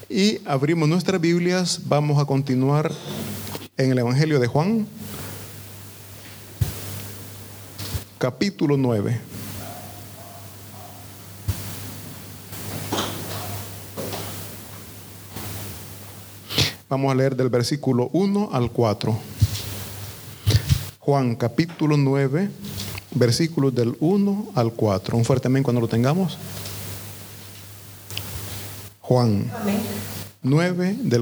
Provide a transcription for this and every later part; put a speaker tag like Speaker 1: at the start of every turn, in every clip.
Speaker 1: Y abrimos nuestras Biblias. Vamos a continuar en el Evangelio de Juan, capítulo 9. Vamos a leer del versículo 1 al 4. Juan capítulo 9, versículos del 1 al 4. Un fuerte amén cuando lo tengamos. Juan 9 del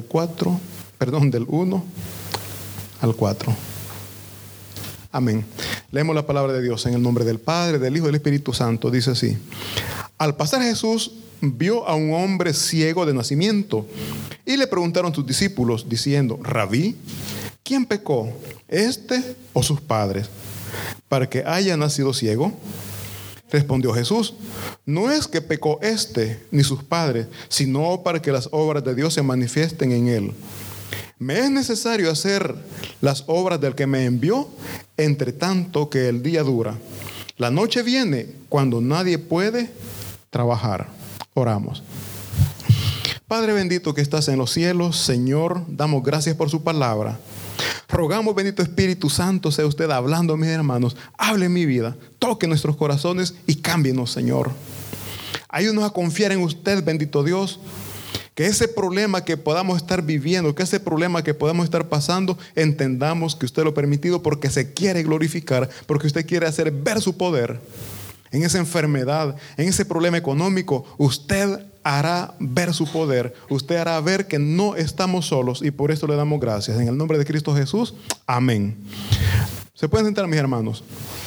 Speaker 1: 1 al 4. Amén. Leemos la palabra de Dios en el nombre del Padre, del Hijo y del Espíritu Santo. Dice así: Al pasar Jesús vio a un hombre ciego de nacimiento y le preguntaron sus discípulos diciendo: Rabí, ¿quién pecó, este o sus padres, para que haya nacido ciego? Respondió Jesús: No es que pecó este ni sus padres, sino para que las obras de Dios se manifiesten en él. Me es necesario hacer las obras del que me envió, entre tanto que el día dura. La noche viene cuando nadie puede trabajar. Oramos. Padre bendito que estás en los cielos, Señor, damos gracias por su palabra. Rogamos, bendito Espíritu Santo, sea usted hablando, mis hermanos. Hable en mi vida, toque nuestros corazones y cámbienos, Señor. Ayúdanos a confiar en usted, bendito Dios. Que ese problema que podamos estar viviendo, que ese problema que podamos estar pasando, entendamos que usted lo ha permitido porque se quiere glorificar, porque usted quiere hacer ver su poder. En esa enfermedad, en ese problema económico, usted hará ver su poder. Usted hará ver que no estamos solos y por eso le damos gracias. En el nombre de Cristo Jesús, amén. ¿Se pueden sentar, mis hermanos?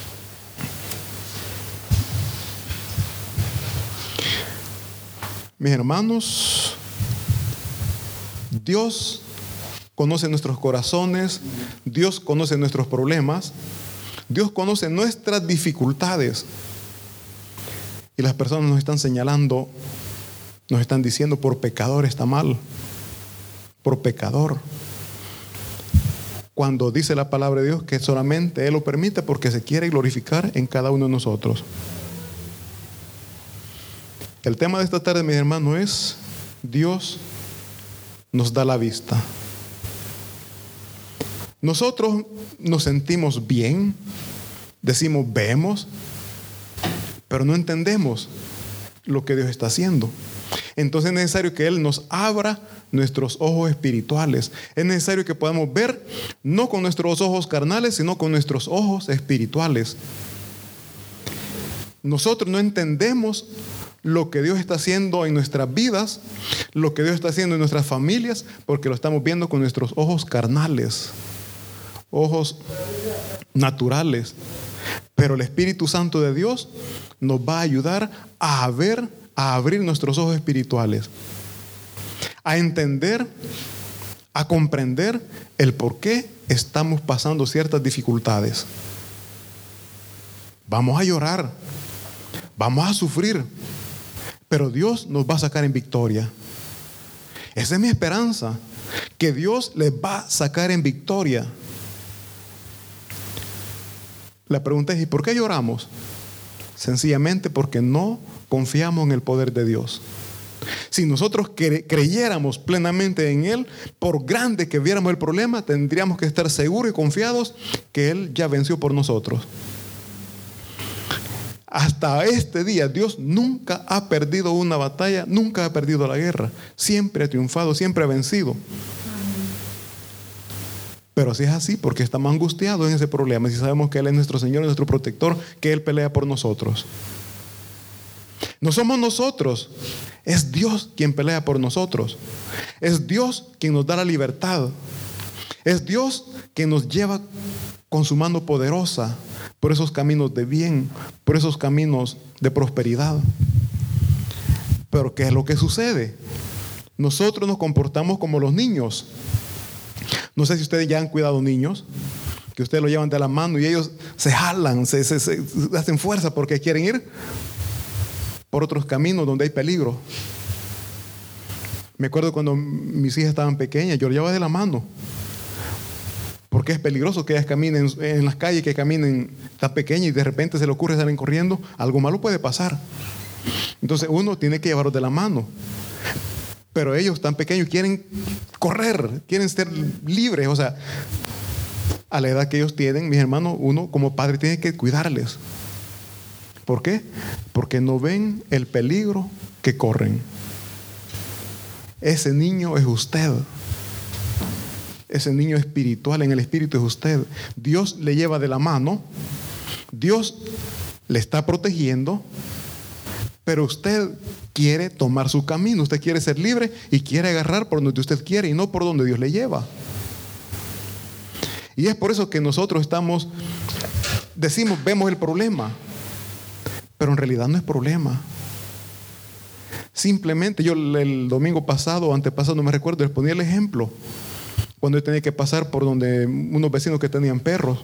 Speaker 1: Mis hermanos, Dios conoce nuestros corazones, Dios conoce nuestros problemas, Dios conoce nuestras dificultades. Y las personas nos están señalando, nos están diciendo: por pecador está mal, por pecador. Cuando dice la palabra de Dios que solamente Él lo permite porque se quiere glorificar en cada uno de nosotros. El tema de esta tarde, mis hermanos, es: Dios nos da la vista. Nosotros nos sentimos bien, decimos vemos, pero no entendemos lo que Dios está haciendo. Entonces es necesario que Él nos abra nuestros ojos espirituales. Es necesario que podamos ver no con nuestros ojos carnales, sino con nuestros ojos espirituales. Nosotros no entendemos lo que Dios está haciendo en nuestras vidas, lo que Dios está haciendo en nuestras familias, porque lo estamos viendo con nuestros ojos carnales, ojos naturales. Pero el Espíritu Santo de Dios nos va a ayudar a ver, a abrir nuestros ojos espirituales, a entender, a comprender el por qué estamos pasando ciertas dificultades. Vamos a llorar, vamos a sufrir, pero Dios nos va a sacar en victoria. Esa es mi esperanza, que Dios les va a sacar en victoria. La pregunta es: ¿y por qué lloramos? Sencillamente porque no confiamos en el poder de Dios. Si nosotros creyéramos plenamente en Él, por grande que viéramos el problema, tendríamos que estar seguros y confiados que Él ya venció por nosotros. Hasta este día Dios nunca ha perdido una batalla, nunca ha perdido la guerra. Siempre ha triunfado, siempre ha vencido. Pero si es así, porque estamos angustiados en ese problema, si sabemos que Él es nuestro Señor, nuestro protector, que Él pelea por nosotros. No somos nosotros, es Dios quien pelea por nosotros. Es Dios quien nos da la libertad. Es Dios quien nos lleva con su mano poderosa por esos caminos de bien, por esos caminos de prosperidad. Pero ¿qué es lo que sucede? Nosotros nos comportamos como los niños. No sé si ustedes ya han cuidado niños, que ustedes lo llevan de la mano y ellos se jalan, se hacen fuerza porque quieren ir por otros caminos donde hay peligro. Me acuerdo cuando mis hijas estaban pequeñas, yo las llevaba de la mano, porque es peligroso que ellas caminen en las calles, que caminen tan pequeñas y de repente se le ocurre salir corriendo, algo malo puede pasar. Entonces uno tiene que llevarlos de la mano. Pero ellos tan pequeños quieren correr, quieren ser libres. O sea, a la edad que ellos tienen, mis hermanos, uno como padre tiene que cuidarles. ¿Por qué? Porque no ven el peligro que corren. Ese niño es usted. Ese niño espiritual, en el espíritu es usted. Dios le lleva de la mano. Dios le está protegiendo. Pero usted quiere tomar su camino. Usted quiere ser libre y quiere agarrar por donde usted quiere y no por donde Dios le lleva. Y es por eso que nosotros decimos, vemos el problema. Pero en realidad no es problema. Simplemente yo el domingo pasado o antepasado, no me recuerdo, les ponía el ejemplo. Cuando yo tenía que pasar por donde unos vecinos que tenían perros.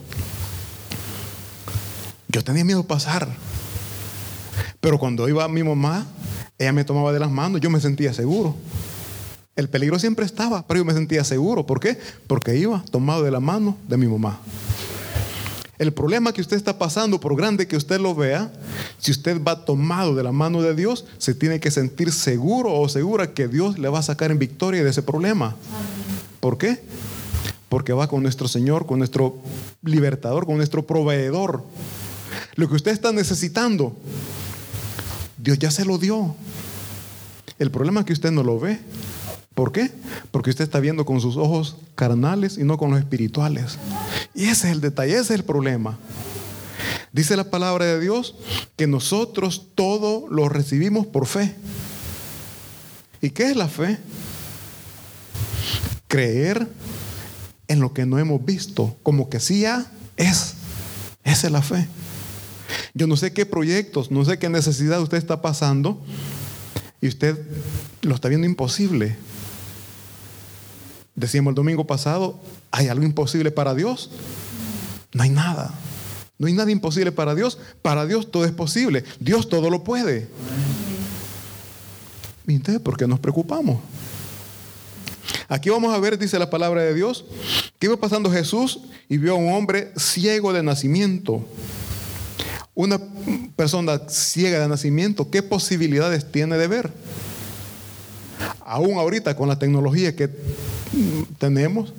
Speaker 1: Yo tenía miedo de pasar. Pero cuando iba mi mamá, ella me tomaba de las manos, yo me sentía seguro. El peligro siempre estaba, pero yo me sentía seguro. ¿Por qué? Porque iba tomado de la mano de mi mamá. El problema que usted está pasando, por grande que usted lo vea, si usted va tomado de la mano de Dios, se tiene que sentir seguro o segura que Dios le va a sacar en victoria de ese problema. ¿Por qué? Porque va con nuestro Señor, con nuestro libertador, con nuestro proveedor. Lo que usted está necesitando, Dios ya se lo dio. El problema es que usted no lo ve. ¿Por qué? Porque usted está viendo con sus ojos carnales y no con los espirituales. Y ese es el detalle, ese es el problema. Dice la palabra de Dios que nosotros todo lo recibimos por fe. ¿Y qué es la fe? Creer en lo que no hemos visto, como que sí ya es. Esa es la fe. Yo no sé qué proyectos, no sé qué necesidad usted está pasando y usted lo está viendo imposible. Decíamos el domingo pasado, ¿hay algo imposible para Dios? No hay nada. No hay nada imposible para Dios. Para Dios todo es posible. Dios todo lo puede. ¿Y entonces por qué nos preocupamos? Aquí vamos a ver, dice la palabra de Dios, que iba pasando Jesús y vio a un hombre ciego de nacimiento. Una persona ciega de nacimiento, ¿qué posibilidades tiene de ver? Aún ahorita con la tecnología que tenemos,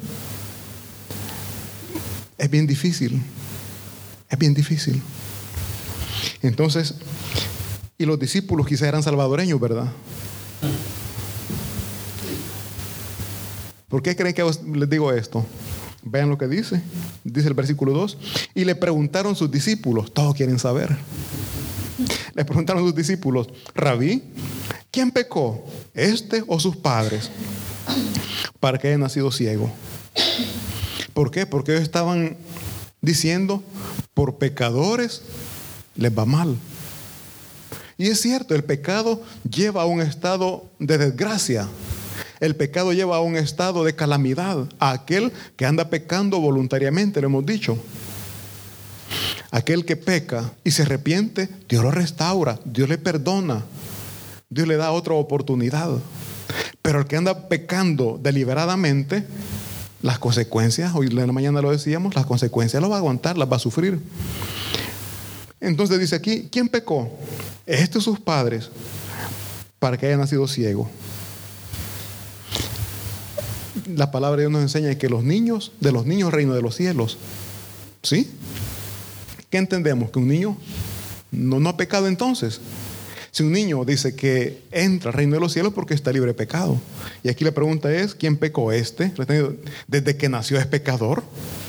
Speaker 1: es bien difícil. Es bien difícil. Entonces, y los discípulos quizás eran salvadoreños, ¿verdad? ¿Por qué creen que les digo esto? Vean lo que dice. Dice el versículo 2. Y le preguntaron sus discípulos, todos quieren saber. Le preguntaron sus discípulos, Rabí, ¿quién pecó? ¿Este o sus padres? Para que haya nacido ciego. ¿Por qué? Porque ellos estaban diciendo, por pecadores les va mal. Y es cierto, el pecado lleva a un estado de desgracia. El pecado lleva a un estado de calamidad a aquel que anda pecando voluntariamente, lo hemos dicho. Aquel que peca y se arrepiente, Dios lo restaura, Dios le perdona, Dios le da otra oportunidad. Pero el que anda pecando deliberadamente, las consecuencias, hoy en la mañana lo decíamos, las consecuencias las va a aguantar, las va a sufrir. Entonces dice aquí, ¿quién pecó? Este o sus padres, para que haya nacido ciego. La palabra de Dios nos enseña que de los niños reino de los cielos. ¿Sí? ¿Qué entendemos? Que un niño no ha pecado entonces. Si un niño dice que entra al reino de los cielos porque está libre de pecado. Y aquí la pregunta es, ¿quién pecó este? ¿Desde que nació es pecador?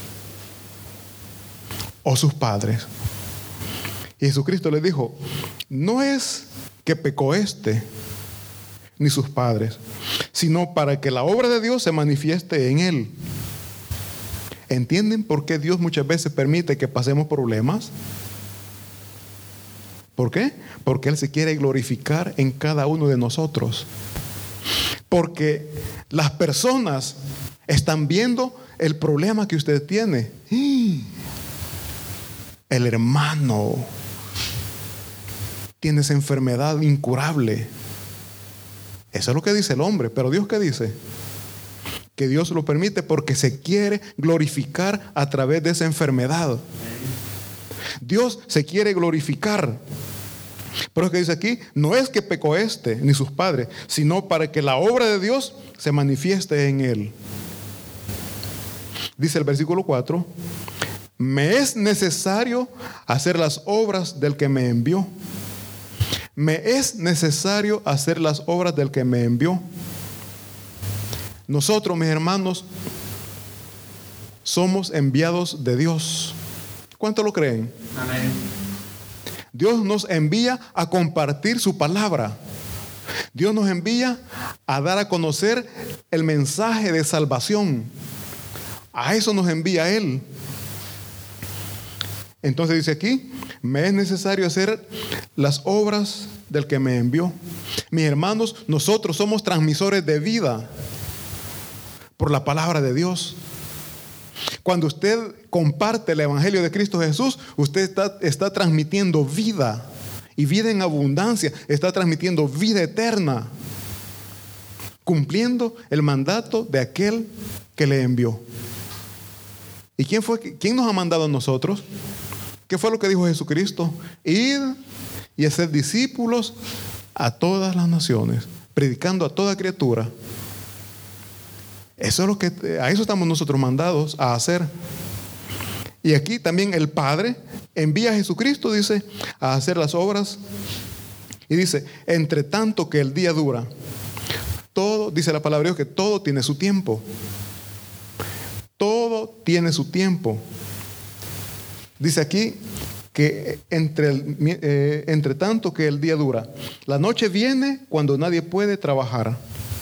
Speaker 1: ¿O sus padres? Y Jesucristo les dijo, no es que pecó este, ni sus padres, sino para que la obra de Dios se manifieste en él. ¿Entienden por qué Dios muchas veces permite que pasemos problemas? ¿Por qué? Porque Él se quiere glorificar en cada uno de nosotros. Porque las personas están viendo el problema que usted tiene. El hermano tiene esa enfermedad incurable. Eso es lo que dice el hombre. Pero Dios, ¿qué dice? Que Dios lo permite porque se quiere glorificar a través de esa enfermedad. Dios se quiere glorificar. Pero es que dice aquí, no es que pecó este ni sus padres, sino para que la obra de Dios se manifieste en él. Dice el versículo 4, me es necesario hacer las obras del que me envió. Me es necesario hacer las obras del que me envió. Nosotros, mis hermanos, somos enviados de Dios. ¿Cuánto lo creen?
Speaker 2: Amén.
Speaker 1: Dios nos envía a compartir su palabra. Dios nos envía a dar a conocer el mensaje de salvación. A eso nos envía Él. Entonces dice aquí, me es necesario hacer las obras del que me envió. Mis hermanos, nosotros somos transmisores de vida por la palabra de Dios. Cuando usted comparte el Evangelio de Cristo Jesús, usted está transmitiendo vida, y vida en abundancia. Está transmitiendo vida eterna, cumpliendo el mandato de aquel que le envió. ¿Y quién nos ha mandado a nosotros? ¿Qué fue lo que dijo Jesucristo? Id y hacer discípulos a todas las naciones, predicando a toda criatura. Eso es a eso estamos nosotros mandados a hacer. Y aquí también el Padre envía a Jesucristo, dice, a hacer las obras. Y dice, entre tanto que el día dura, todo, dice la palabra de Dios, que todo tiene su tiempo. Todo tiene su tiempo. Dice aquí que entre tanto que el día dura, la noche viene cuando nadie puede trabajar.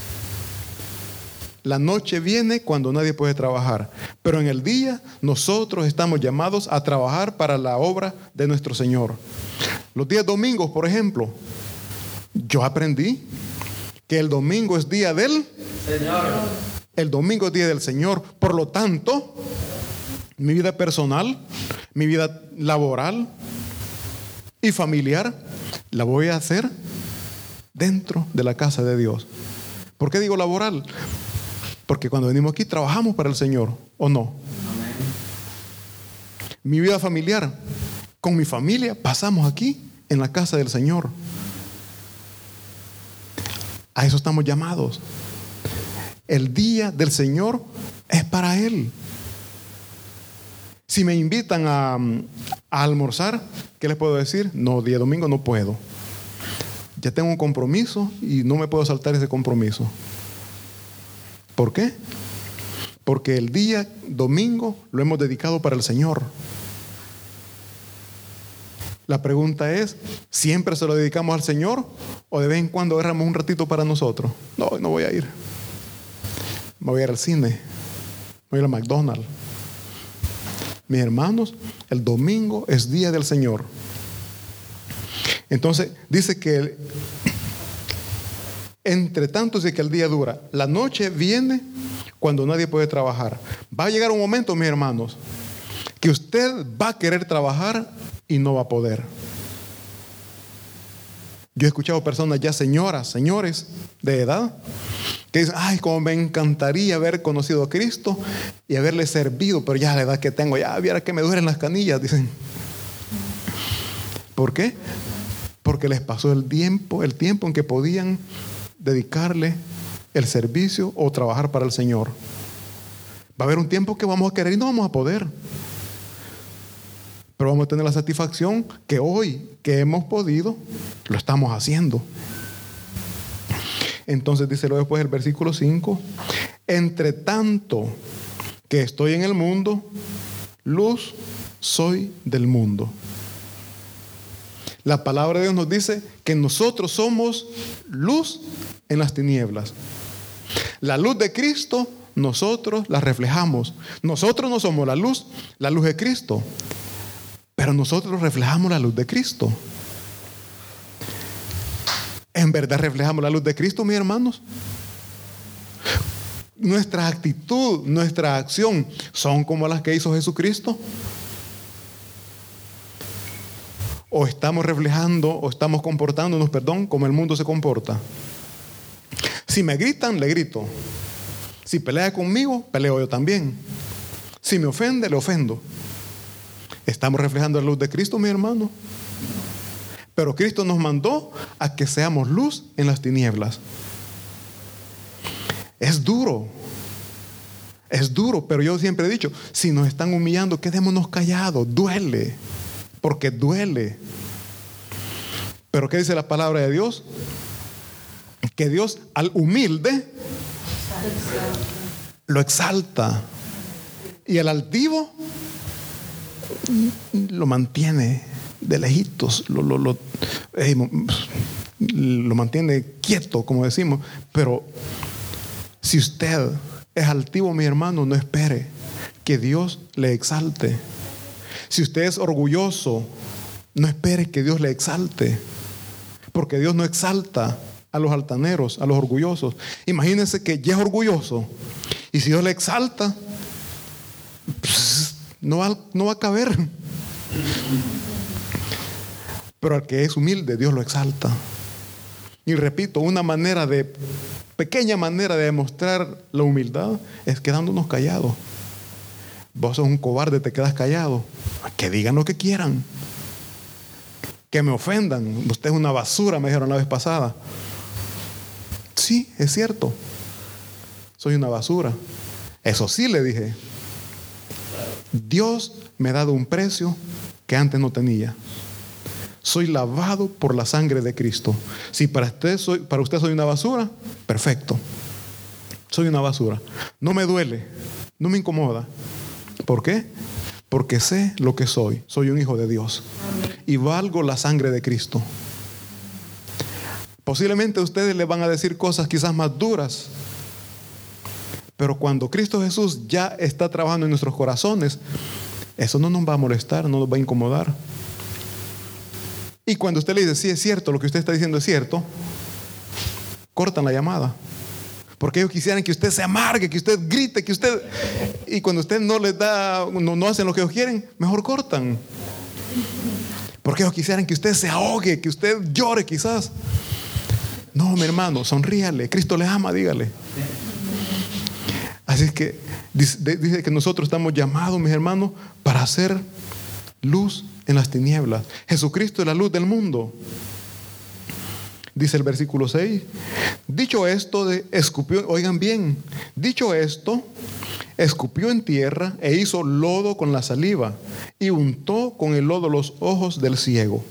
Speaker 1: La noche viene cuando nadie puede trabajar, pero en el día nosotros estamos llamados a trabajar para la obra de nuestro Señor. Los días domingos, por ejemplo, yo aprendí que el domingo es día del Señor. El domingo es día del Señor. Por lo tanto, mi vida personal, mi vida laboral y familiar la voy a hacer dentro de la casa de Dios. ¿Por qué digo laboral? Porque cuando venimos aquí trabajamos para el Señor, ¿o no? Amén. Mi vida familiar, con mi familia pasamos aquí en la casa del Señor. A eso estamos llamados. El día del Señor es para Él. Si me invitan a almorzar, ¿qué les puedo decir? No, día domingo no puedo. Ya tengo un compromiso y no me puedo saltar ese compromiso. ¿Por qué? Porque el día domingo lo hemos dedicado para el Señor. La pregunta es, ¿siempre se lo dedicamos al Señor o de vez en cuando agarramos un ratito para nosotros? No voy a ir. Me voy a ir al cine. Voy a ir a McDonald's. Mis hermanos, el domingo es día del Señor. Entonces dice que entre tanto dice que el día dura. La noche viene cuando nadie puede trabajar. Va a llegar un momento, mis hermanos, que usted va a querer trabajar y no va a poder. Yo he escuchado personas ya señoras, señores de edad, que dicen, ay, como me encantaría haber conocido a Cristo y haberle servido, pero ya a la edad que tengo, ya viera que me duelen las canillas, dicen. ¿Por qué? Porque les pasó el tiempo en que podían dedicarle el servicio o trabajar para el Señor. Va a haber un tiempo que vamos a querer y no vamos a poder. Pero vamos a tener la satisfacción que hoy que hemos podido, lo estamos haciendo. Entonces dice luego después el versículo 5, entre tanto que estoy en el mundo, luz soy del mundo. La palabra de Dios nos dice que nosotros somos luz en las tinieblas. La luz de Cristo nosotros la reflejamos. Nosotros no somos la luz es Cristo, pero nosotros reflejamos la luz de Cristo. ¿En verdad reflejamos la luz de Cristo, mis hermanos? Nuestra actitud, nuestra acción son como las que hizo Jesucristo. O estamos reflejando, o estamos comportándonos, como el mundo se comporta. Si me gritan, le grito. Si pelea conmigo, peleo yo también. Si me ofende, le ofendo. ¿Estamos reflejando la luz de Cristo, mi hermano? Pero Cristo nos mandó a que seamos luz en las tinieblas. Es duro, pero yo siempre he dicho, si nos están humillando, quedémonos callados. Duele, porque duele. Pero ¿qué dice la palabra de Dios? Que Dios al humilde lo exalta, y al altivo lo mantiene de lejitos, lo mantiene quieto, como decimos. Pero si usted es altivo, mi hermano, no espere que Dios le exalte. Si usted es orgulloso, no espere que Dios le exalte, porque Dios no exalta a los altaneros, a los orgullosos. Imagínense que ya es orgulloso, y si Dios le exalta, pues, no va a caber. Pero al que es humilde, Dios lo exalta. Y repito, pequeña manera de demostrar la humildad es quedándonos callados. Vos sos un cobarde, te quedas callado. Que digan lo que quieran, que me ofendan. Usted es una basura, me dijeron la vez pasada. Sí, es cierto, soy una basura. Eso sí, le dije, Dios me ha dado un precio que antes no tenía. Soy lavado por la sangre de Cristo. Si para usted soy una basura, perfecto. Soy una basura. No me duele, no me incomoda. ¿Por qué? Porque sé lo que soy. Soy un hijo de Dios. Y valgo la sangre de Cristo. Posiblemente ustedes le van a decir cosas quizás más duras. Pero cuando Cristo Jesús ya está trabajando en nuestros corazones, eso no nos va a molestar, no nos va a incomodar. Y cuando usted le dice, sí, es cierto, lo que usted está diciendo es cierto, cortan la llamada. Porque ellos quisieran que usted se amargue, que usted grite, que usted... Y cuando usted no les da, no hacen lo que ellos quieren, mejor cortan. Porque ellos quisieran que usted se ahogue, que usted llore quizás. No, mi hermano, sonríale. Cristo le ama, dígale. Así es que dice que nosotros estamos llamados, mis hermanos, para hacer luz en las tinieblas. Jesucristo es la luz del mundo. Dice el versículo 6. Dicho esto, escupió, oigan bien, dicho esto, escupió en tierra e hizo lodo con la saliva y untó con el lodo los ojos del ciego.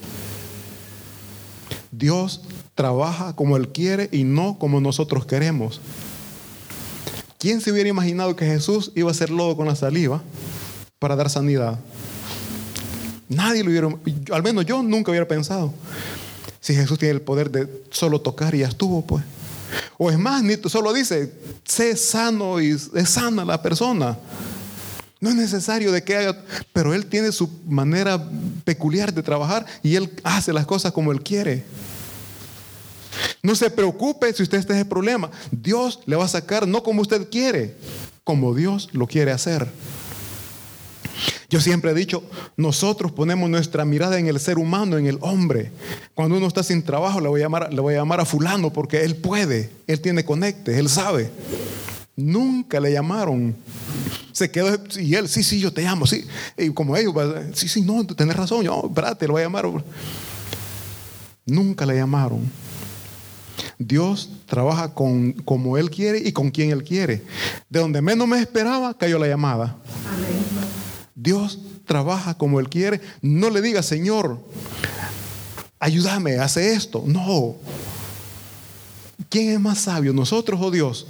Speaker 1: Dios trabaja como Él quiere y no como nosotros queremos. ¿Quién se hubiera imaginado que Jesús iba a hacer lodo con la saliva para dar sanidad? Nadie lo hubiera, al menos yo nunca hubiera pensado. Si Jesús tiene el poder de solo tocar y ya estuvo, pues. O es más, ni solo dice, sé sano y es sana la persona. No es necesario de que haga, pero Él tiene su manera peculiar de trabajar y Él hace las cosas como Él quiere. No se preocupe si usted está en ese problema. Dios le va a sacar no como usted quiere, como Dios lo quiere hacer. Yo siempre he dicho, nosotros ponemos nuestra mirada en el ser humano, en el hombre. Cuando uno está sin trabajo, le voy a llamar a fulano porque él puede, él tiene conectes, él sabe. Nunca le llamaron. Se quedó, y él, sí, yo te llamo, sí. Y como ellos, sí, no, tenés razón, yo, espérate, lo voy a llamar. Nunca le llamaron. Dios trabaja como Él quiere y con quien Él quiere. De donde menos me esperaba, cayó la llamada. Amén. Dios trabaja como Él quiere. No le diga, Señor, ayúdame, hace esto. No. ¿Quién es más sabio, nosotros o Dios?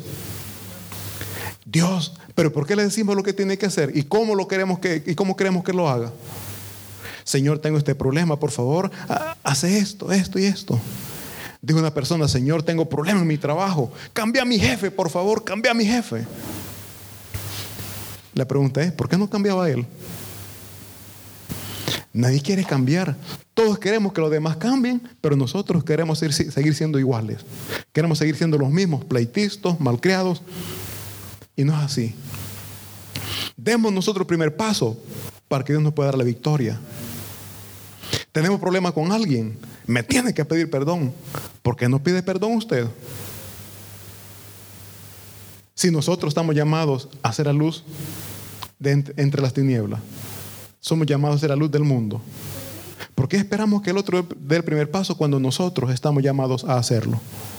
Speaker 1: Dios. Pero ¿por qué le decimos lo que tiene que hacer? ¿Y cómo queremos que lo haga? Señor, tengo este problema, por favor, hace esto y esto. Dijo una persona, Señor, tengo problemas en mi trabajo. Cambia a mi jefe, por favor, cambia a mi jefe. La pregunta es, ¿por qué no cambiaba él? Nadie quiere cambiar. Todos queremos que los demás cambien, pero nosotros queremos seguir siendo iguales. Queremos seguir siendo los mismos, pleitistas, malcriados. Y no es así. Demos nosotros el primer paso para que Dios nos pueda dar la victoria. Tenemos problemas con alguien, me tiene que pedir perdón. ¿Por qué no pide perdón usted? Si nosotros estamos llamados a ser la luz entre las tinieblas, somos llamados a ser la luz del mundo. ¿Por qué esperamos que el otro dé el primer paso cuando nosotros estamos llamados a hacerlo?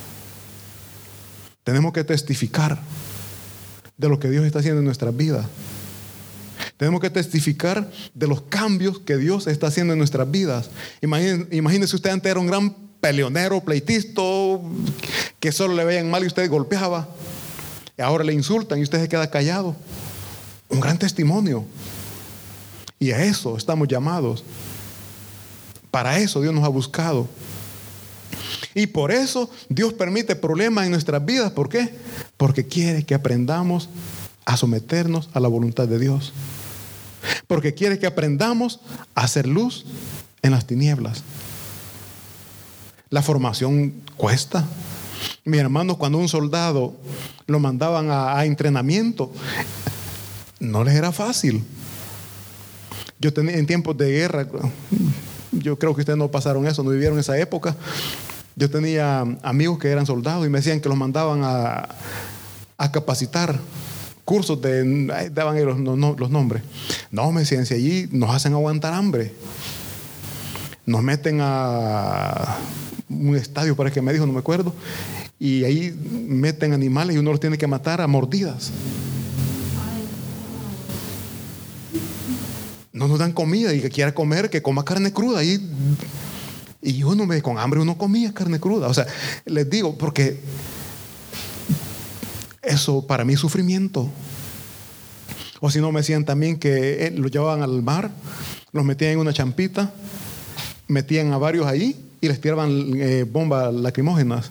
Speaker 1: Tenemos que testificar de lo que Dios está haciendo en nuestras vidas. Tenemos que testificar de los cambios que Dios está haciendo en nuestras vidas. Imagínese usted, antes era un gran peleonero, pleitisto, que solo le veían mal y usted golpeaba. Y ahora le insultan y usted se queda callado. Un gran testimonio. Y a eso estamos llamados. Para eso Dios nos ha buscado. Y por eso Dios permite problemas en nuestras vidas. ¿Por qué? Porque quiere que aprendamos a someternos a la voluntad de Dios. Porque quiere que aprendamos a hacer luz en las tinieblas. La formación cuesta. Mis hermanos, cuando un soldado lo mandaban a entrenamiento, no les era fácil. Yo tenía en tiempos de guerra, yo creo que ustedes no pasaron eso, no vivieron esa época. Yo tenía amigos que eran soldados y me decían que los mandaban a capacitar. Cursos daban ellos los nombres. No, me decían, si allí nos hacen aguantar hambre. Nos meten a un estadio, parece que me dijo, no me acuerdo. Y ahí meten animales y uno los tiene que matar a mordidas. No nos dan comida, y que quiera comer, que coma carne cruda. Y uno con hambre uno comía carne cruda. O sea, les digo, porque eso para mí es sufrimiento. O si no, me decían también que los llevaban al mar, los metían en una champita, metían a varios ahí y les tiraban bombas lacrimógenas.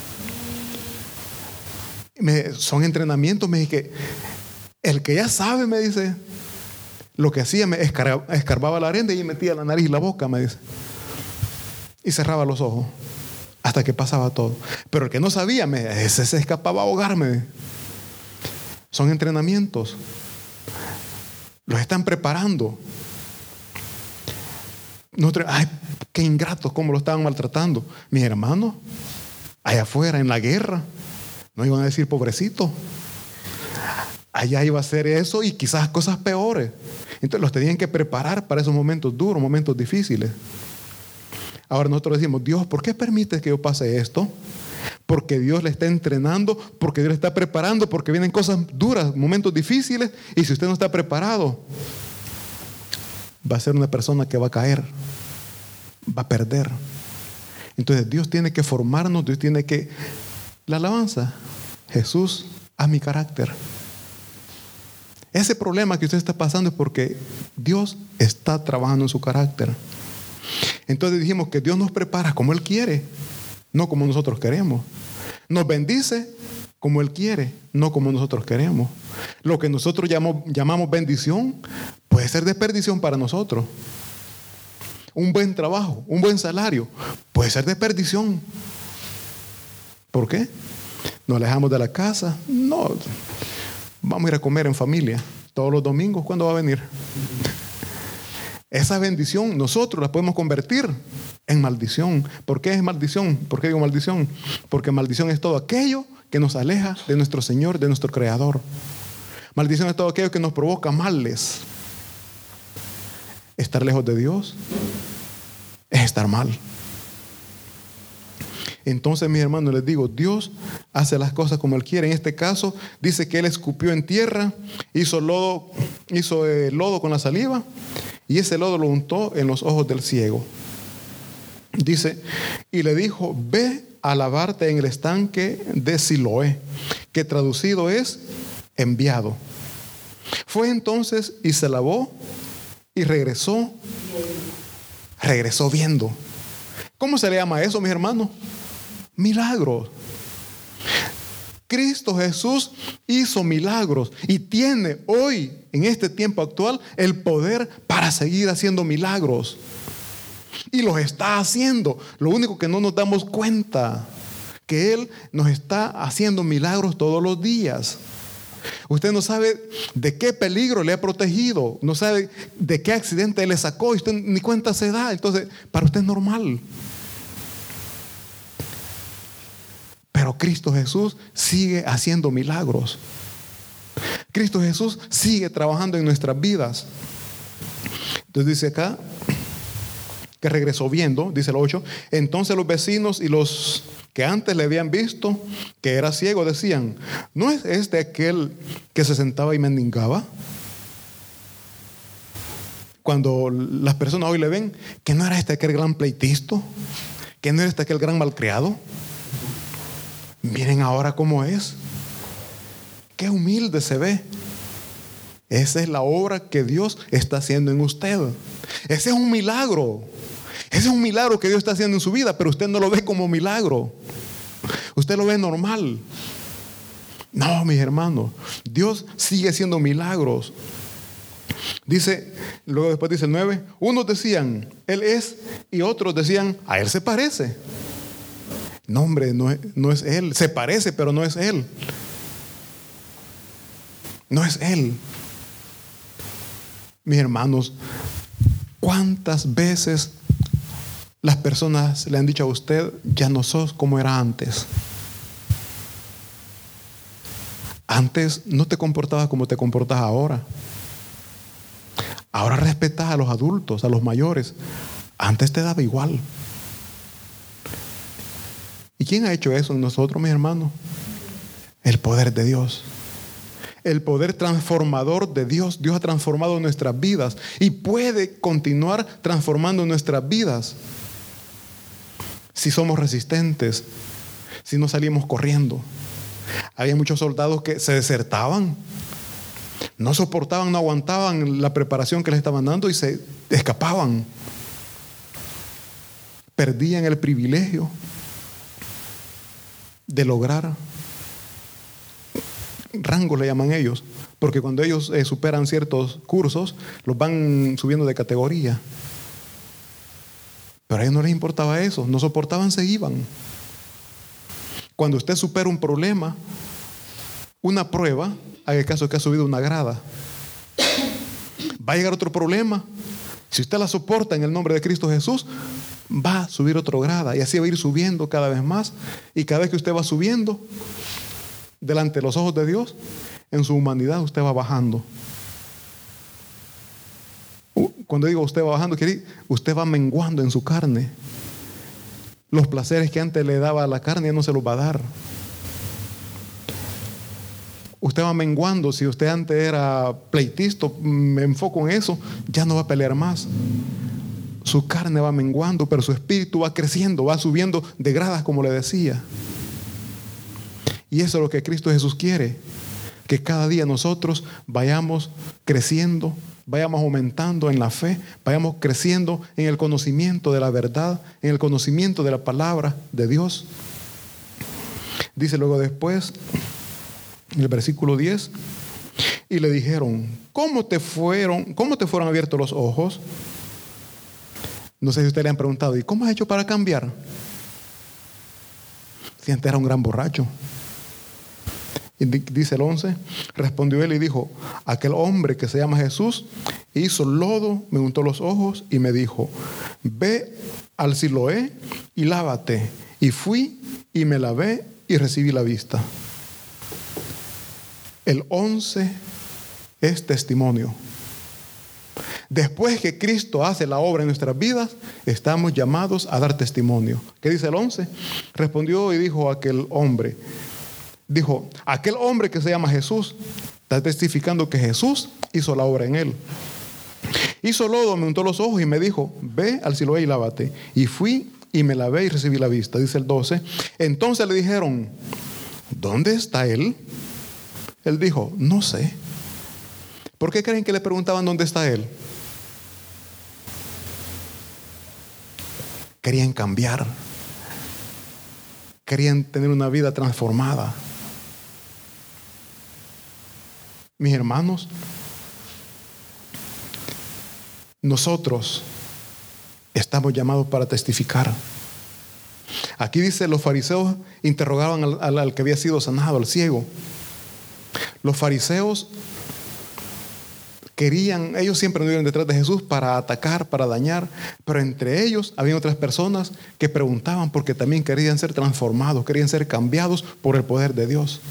Speaker 1: Son entrenamientos, me dije, que el que ya sabe, me dice, lo que hacía, me escarbaba la arena y metía la nariz y la boca, me dice, y cerraba los ojos hasta que pasaba todo. Pero el que no sabía, ese se escapaba a ahogarme. Son entrenamientos. Los están preparando. Ay, qué ingratos, cómo lo estaban maltratando. Mis hermanos, allá afuera en la guerra, no iban a decir pobrecito. Allá iba a ser eso y quizás cosas peores. Entonces los tenían que preparar para esos momentos duros, momentos difíciles. Ahora nosotros decimos, Dios, ¿por qué permites que yo pase esto? Porque Dios le está entrenando, porque Dios le está preparando, porque vienen cosas duras, momentos difíciles, y si usted no está preparado, va a ser una persona que va a caer, va a perder. Entonces Dios tiene que formarnos, Dios tiene que... La alabanza, Jesús, a mi carácter. Ese problema que usted está pasando es porque Dios está trabajando en su carácter. Entonces dijimos que Dios nos prepara como Él quiere, no como nosotros queremos. Nos bendice como Él quiere, no como nosotros queremos. Lo que nosotros llamamos bendición puede ser de perdición para nosotros. Un buen trabajo, un buen salario puede ser de perdición. ¿Por qué? Nos alejamos de la casa. No, vamos a ir a comer en familia todos los domingos. ¿Cuándo va a venir? Esa bendición nosotros la podemos convertir en maldición. ¿Por qué es maldición? ¿Por qué digo maldición? Porque maldición es todo aquello que nos aleja de nuestro Señor, de nuestro Creador. Maldición es todo aquello que nos provoca males. Estar lejos de Dios es estar mal. Entonces, mis hermanos, les digo, Dios hace las cosas como Él quiere. En este caso, dice que Él escupió en tierra, hizo lodo con la saliva, y ese lodo lo untó en los ojos del ciego. Dice, y le dijo, ve a lavarte en el estanque de Siloé, que traducido es enviado. Fue entonces y se lavó y regresó viendo. ¿Cómo se le llama eso, mis hermanos? Milagros. Cristo Jesús hizo milagros y tiene hoy, en este tiempo actual, el poder para seguir haciendo milagros. Y los está haciendo. Lo único que no nos damos cuenta, que Él nos está haciendo milagros todos los días. Usted no sabe de qué peligro le ha protegido, no sabe de qué accidente le sacó y usted ni cuenta se da. Entonces, para usted es normal. Pero Cristo Jesús sigue haciendo milagros. Cristo Jesús sigue trabajando en nuestras vidas. Entonces dice acá, que regresó viendo, dice el 8. Entonces los vecinos y los que antes le habían visto que era ciego decían: ¿no es este aquel que se sentaba y mendigaba? Cuando las personas hoy le ven, que no era este aquel gran pleitisto, que no era este aquel gran malcriado. Miren ahora cómo es. Qué humilde se ve. Esa es la obra que Dios está haciendo en usted. Ese es un milagro. Ese es un milagro que Dios está haciendo en su vida, pero usted no lo ve como milagro. Usted lo ve normal. No, mis hermanos, Dios sigue haciendo milagros. Dice, luego después dice el 9, unos decían, Él es, y otros decían, a Él se parece. No, hombre, no es Él. Se parece, pero no es Él. No es Él. Mis hermanos, ¿cuántas veces las personas le han dicho a usted: ya no sos como era antes? Antes no te comportabas como te comportas ahora. Ahora respetas a los adultos, a los mayores. Antes te daba igual. ¿Y quién ha hecho eso en nosotros, mis hermanos? El poder de Dios. El poder transformador de Dios. Dios ha transformado nuestras vidas y puede continuar transformando nuestras vidas si somos resistentes, si no salimos corriendo. Había muchos soldados que se desertaban, no soportaban, no aguantaban la preparación que les estaban dando y se escapaban. Perdían el privilegio de lograr rangos, le llaman ellos, porque cuando ellos superan ciertos cursos, los van subiendo de categoría. Pero a ellos no les importaba eso, no soportaban, se iban. Cuando usted supera un problema, una prueba, haga el caso que ha subido una grada, va a llegar otro problema. Si usted la soporta en el nombre de Cristo Jesús, va a subir otra grada y así va a ir subiendo cada vez más. Y cada vez que usted va subiendo delante de los ojos de Dios, en su humanidad usted va bajando. Cuando digo usted va bajando, quiere decir usted va menguando en su carne. Los placeres que antes le daba a la carne ya no se los va a dar. Usted va menguando. Si usted antes era pleitista, me enfoco en eso, ya no va a pelear más. Su carne va menguando, pero su espíritu va creciendo, va subiendo de gradas, como le decía. Y eso es lo que Cristo Jesús quiere, que cada día nosotros vayamos creciendo, vayamos aumentando en la fe, vayamos creciendo en el conocimiento de la verdad, en el conocimiento de la palabra de Dios. Dice luego después, en el versículo 10, y le dijeron: ¿Cómo te fueron abiertos los ojos? No sé si ustedes le han preguntado: ¿y cómo has hecho para cambiar? Si antes era un gran borracho. Y dice el 11, respondió él y dijo: aquel hombre que se llama Jesús hizo lodo, me untó los ojos y me dijo: ve al Siloé y lávate. Y fui y me lavé y recibí la vista. El 11 es testimonio. Después que Cristo hace la obra en nuestras vidas, estamos llamados a dar testimonio. ¿Qué dice el 11? Respondió y dijo aquel hombre: aquel hombre que se llama Jesús está testificando que Jesús hizo la obra en él. Hizo lodo, me untó los ojos y me dijo: ve al Siloé y lávate. Y fui y me lavé y recibí la vista. Dice el 12. Entonces le dijeron: ¿dónde está él? Él dijo: no sé. ¿Por qué creen que le preguntaban dónde está él? Querían cambiar. Querían tener una vida transformada. Mis hermanos, nosotros estamos llamados para testificar. Aquí dice: los fariseos interrogaban al que había sido sanado, al ciego. Los fariseos ellos siempre anduvieron detrás de Jesús para atacar, para dañar, pero entre ellos había otras personas que preguntaban porque también querían ser transformados, querían ser cambiados por el poder de Dios.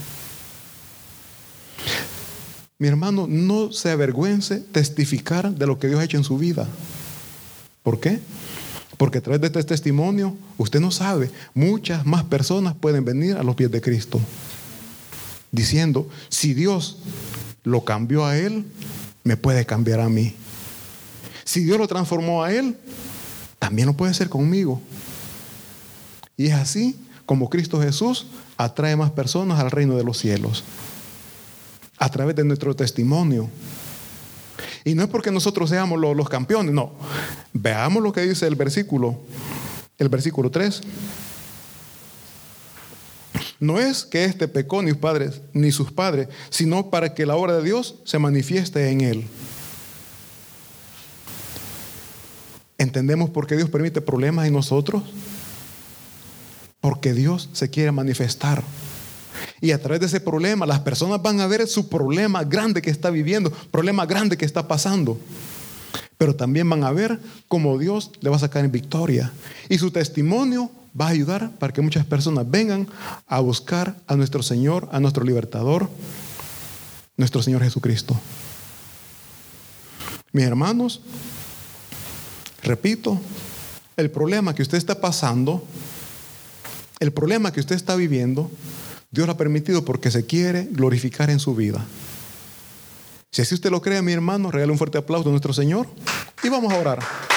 Speaker 1: Mi hermano, no se avergüence testificar de lo que Dios ha hecho en su vida. ¿Por qué? Porque a través de este testimonio, usted no sabe, muchas más personas pueden venir a los pies de Cristo, diciendo, si Dios lo cambió a él, me puede cambiar a mí. Si Dios lo transformó a él, también lo puede hacer conmigo. Y es así como Cristo Jesús atrae más personas al reino de los cielos, a través de nuestro testimonio. Y no es porque nosotros seamos los campeones, no. Veamos lo que dice el versículo 3. No es que éste pecó ni sus padres, sino para que la obra de Dios se manifieste en él. ¿Entendemos por qué Dios permite problemas en nosotros? Porque Dios se quiere manifestar. Y a través de ese problema, las personas van a ver su problema grande que está viviendo, problema grande que está pasando. Pero también van a ver cómo Dios le va a sacar en victoria. Y su testimonio va a ayudar para que muchas personas vengan a buscar a nuestro Señor, a nuestro libertador, nuestro Señor Jesucristo. Mis hermanos, repito, el problema que usted está pasando, el problema que usted está viviendo, Dios lo ha permitido porque se quiere glorificar en su vida. Si así usted lo cree, mi hermano, regale un fuerte aplauso a nuestro Señor y vamos a orar.